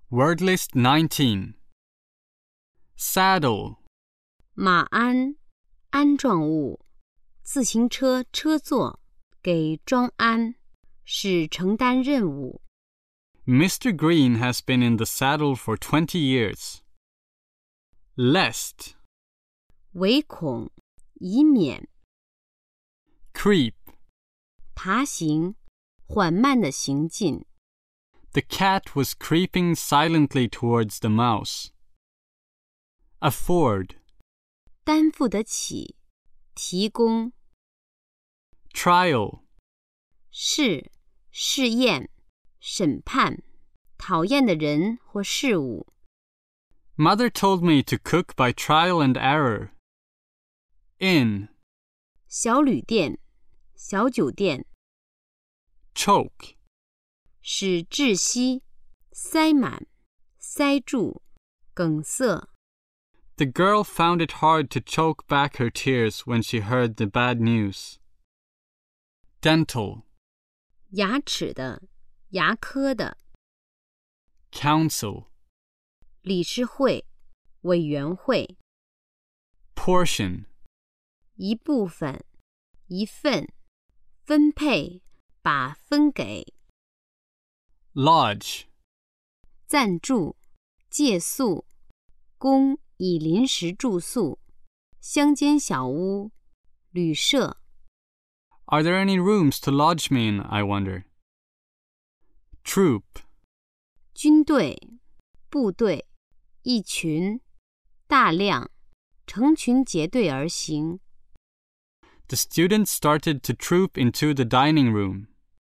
Word list 19. Saddle, 马鞍，鞍状物，自行车车座，给装鞍，是承担任务。 Mr. Green has been in the saddle for 20 years. Lest, 唯恐，以免。 creep, 爬行，缓慢的行进。 the cat was creeping silently towards the mouse. Afford, 担负得起，提供。 trial, 试验，审判，讨厌的人或事物。 Mother told me to cook by trial and error. Inn, 小旅店，小酒店。 choke, 使窒息，塞满，塞住，梗塞。 the girl found it hard to choke back her tears when she heard the bad news. Dental, 牙齿的，牙科的。 council, 理事会，委员会。 portion, 一部分，一份，分配，把分给。 lodge, 暂住，借宿，供以临时住宿，乡间小屋，旅社。 Are there any rooms to lodge me in, I wonder? Troop, 军队，部队，一群，大量，成群结队而行。 the students started to troop into the dining room.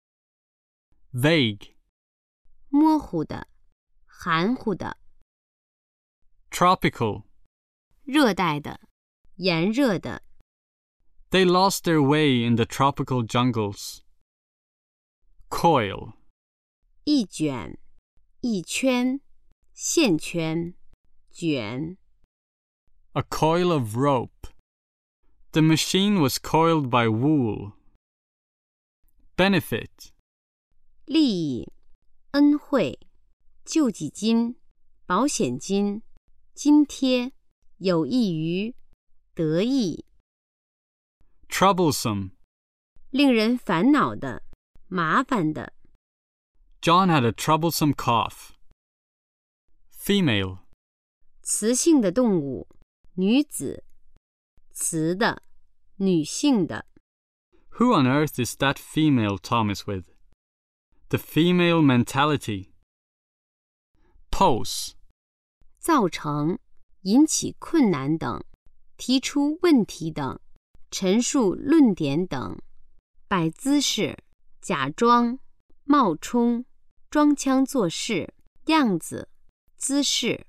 Vague, 模糊的，含糊的。 tropical, 热带的，炎热的。 they lost their way in the tropical jungles. Coil, 一卷，一圈，线圈，卷。 a coil of rope. The machine was coiled by wool. Benefit, 利益，恩惠，救济金，保险金，津贴，有益于，得益。 troublesome. 令人烦恼的，麻烦的。 John had a troublesome cough. Female, 雌性的动物，女子。雌的，女性的。 who on earth is that female Tom is with? The female mentality. Pose, 造成，引起困难等，提出问题等，陈述论点等。摆姿势，假装，冒充，装腔作势，样子，姿势。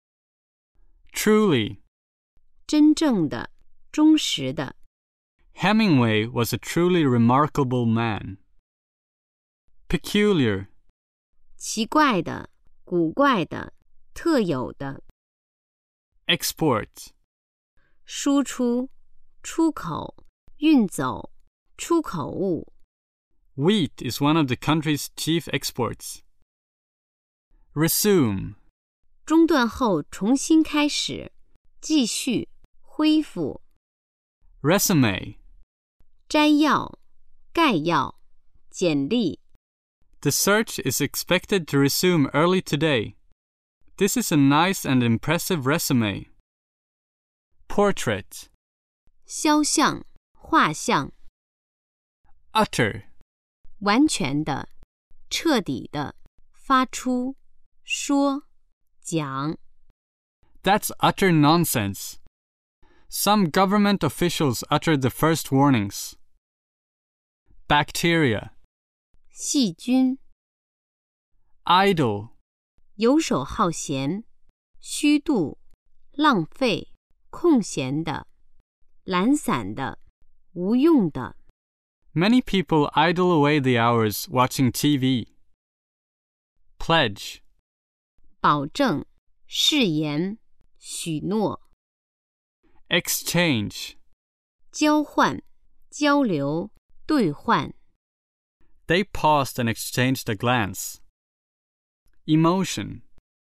truly. 真正的，忠实的。 Hemingway was a truly remarkable man. Peculiar, 奇怪的，古怪的，特有的。 export. 输出，出口，运走，出口物。 Wheat is one of the country's chief exports. Resume, 中断后重新开始，继续，恢复。 resume. 摘要，概要，简历。 The search is expected to resume early today. This is a nice and impressive resume. Portrait, 肖像，画像。 utter, 完全的，彻底的，发出，说，讲。 that's utter nonsense. Some government officials uttered the first warnings. Bacteria, 细菌。 idle, 游手好闲，虚度，浪费，空闲的，懒散的，无用的。 many people idle away the hours watching TV. Pledge, 保证，誓言，许诺。 exchange, 交换，交流，兑换。 they paused and exchanged a glance. Emotion,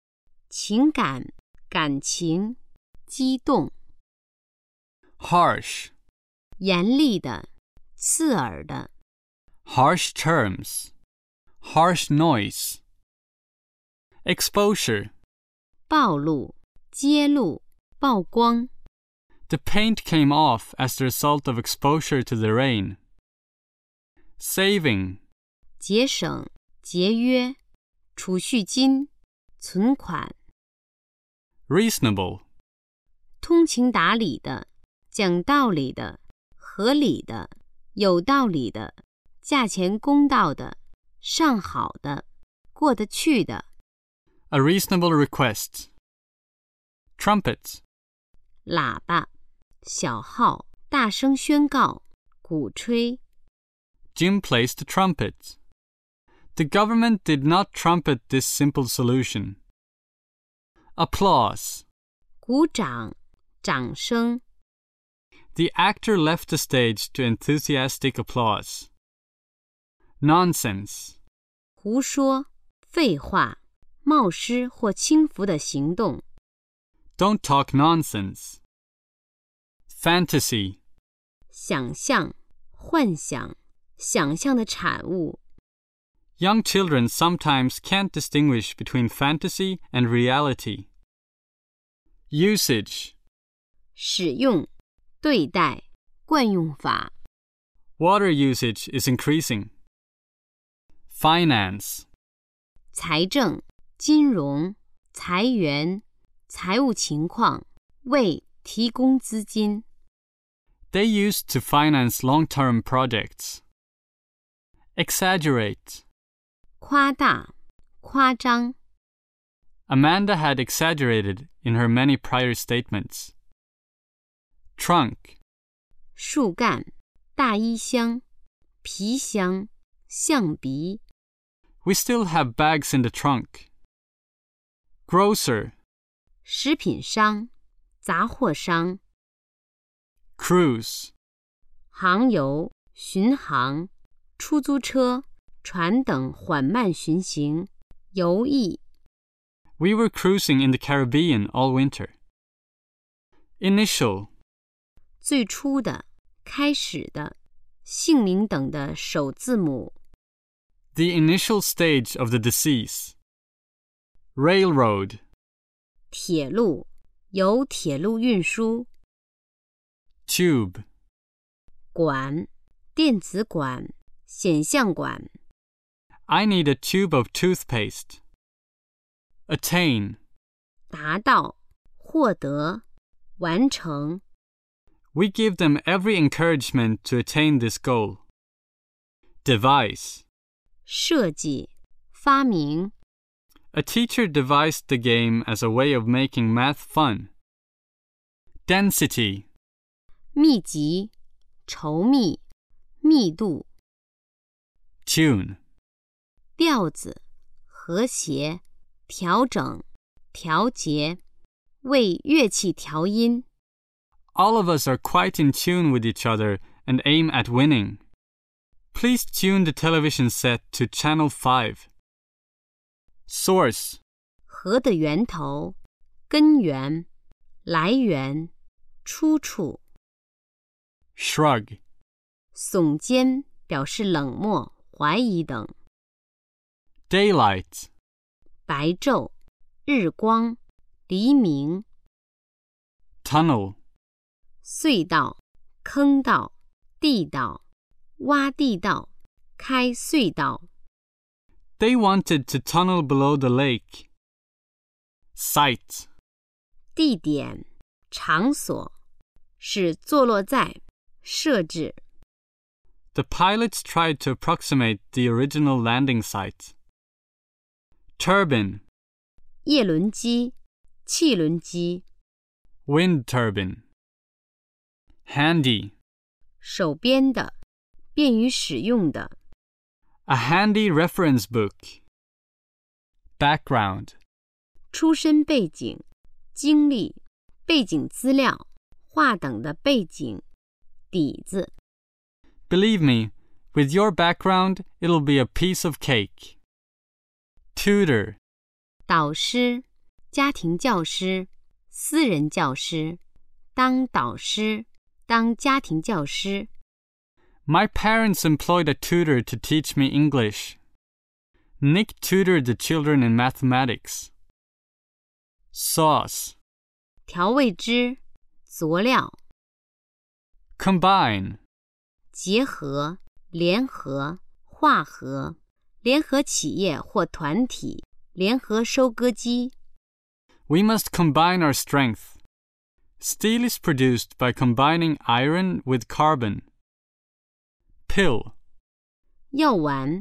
情感、感情、激动。 Harsh. 严厉的、刺耳的。 Harsh terms. Harsh noise. Exposure. 暴露、揭露、曝光。 The paint came off as the result of exposure to the rain. Saving. 节省、节约、储蓄金、存款。 Reasonable. 通情达理的、讲道理的、合理的、有道理的、价钱公道的、上好的、过得去的。 A reasonable request. Trumpet. 喇叭、小号、大声宣告、鼓吹。 Jim placed the trumpet. The government did not trumpet this simple solution. Applause. 鼓掌、掌声。 The actor left the stage to enthusiastic applause. Nonsense. 胡说、废话、冒失或轻浮的行动。 Don't talk nonsense. Fantasy. 想象、幻想、想象的产物。 Young children sometimes can't distinguish between fantasy and reality. Usage. 使用、对待、惯用法。 Water usage is increasing. Finance. 财政、金融、裁员、财务情况，为提供资金。 They used to finance long-term projects. Exaggerate. 夸大、夸张。 Amanda had exaggerated in her many prior statements. Trunk. 树干、大衣箱、皮箱、象鼻。 We still have bags in the trunk. Grocer. 食品商、杂货商。 Cruise. 航游、巡航、出租车、船等缓慢巡行、游弋。 We were cruising in the Caribbean all winter. Initial. 最初的、开始的、姓名等的首字母。 The initial stage of the disease. Railroad. 铁路，由铁路运输。 Tube. 管，电子管、显像管。 I need a tube of toothpaste. Attain. 达到，获得，完成。 We give them every encouragement to attain this goal. Devise. 设计，发明。 A teacher devised the game as a way of making math fun. Density. 密集，稠密，密度。 Tune. 调子，和谐，调整，调节，为乐器调音。 All of us are quite in tune with each other and aim at winning. Please tune the television set to Channel 5. Source. 和的源头，根源，来源，出处。 Shrug. 耸肩，表示冷漠、怀疑等。 Daylight. 白昼，日光，黎明。 Tunnel. 隧道、坑道、地道、挖地道、开隧道。 They wanted to tunnel below the lake. Site. 地点、场所，是坐落在，设置。 The pilots tried to approximate the original landing site. Turbine. 叶轮机、汽轮机。 Wind turbine. Handy. 手边的，便于使用的。 A handy reference book. Background. 出身背景、经历、背景资料、话等的背景、底子。 Believe me, with your background, it'll be a piece of cake. Tutor. 导师、 家庭教师、私人教师、当导师、当家庭教师。 My parents employed a tutor to teach me English. Nick tutored the children in mathematics. Sauce. 调味汁、佐料。 Combine. 结合、联合、化合，联合企业或团体，联合收割机。 We must combine our strength. Steel is produced by combining iron with carbon. Pill. 药丸。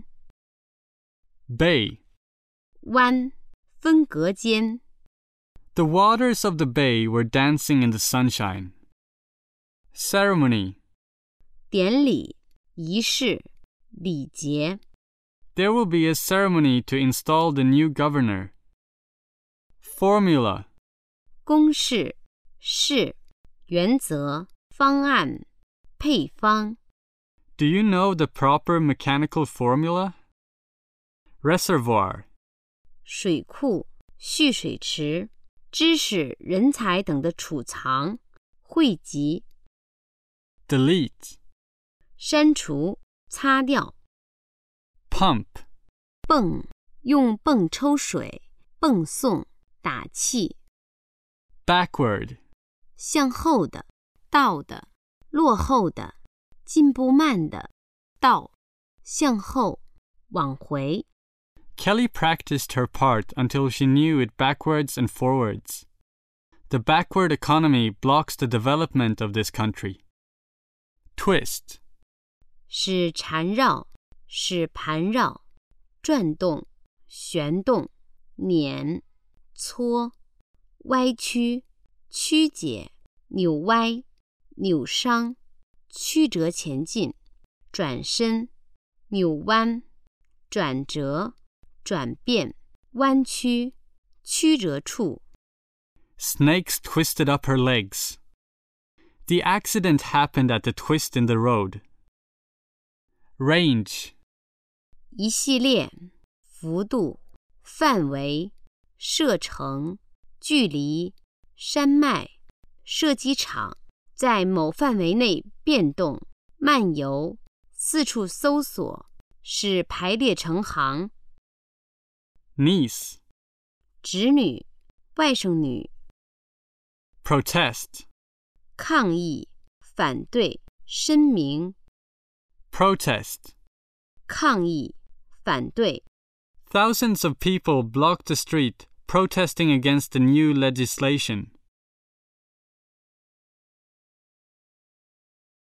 Bay. 湾，分隔间。 The waters of the bay were dancing in the sunshine. Ceremony. 典礼、仪式、礼节。 There will be a ceremony to install the new governor. Formula. 公式、式、原则、方案、配方。 Do you know the proper mechanical formula? Reservoir. 水库、蓄水池、知识、人才等的储藏、汇集。 Delete. 删除、擦掉。 Pump. 泵，用泵抽水，泵送，打气。 Backward. 向后的，倒的，落后的，进步慢的，倒，向后，往回。 Kelly practiced her part until she knew it backwards and forwards. The backward economy blocks the development of this country. Twist. 是缠绕，是盘绕，转动，旋动，碾，搓，歪曲，曲解，扭歪，扭伤，曲折前进，转身，扭弯，转折，转变，弯曲，曲折处。 Snakes twisted up her legs. The accident happened at the twist in the road. Range. 一系列，幅度，范围，射程，距离，山脉，射击场，在某范围内变动，漫游，四处搜索，是排列成行。 Niece. 侄女，外甥女。 Protest. 抗议，反对，声明。 Protest. 抗议，反对。 Thousands of people blocked the street protesting against the new legislation.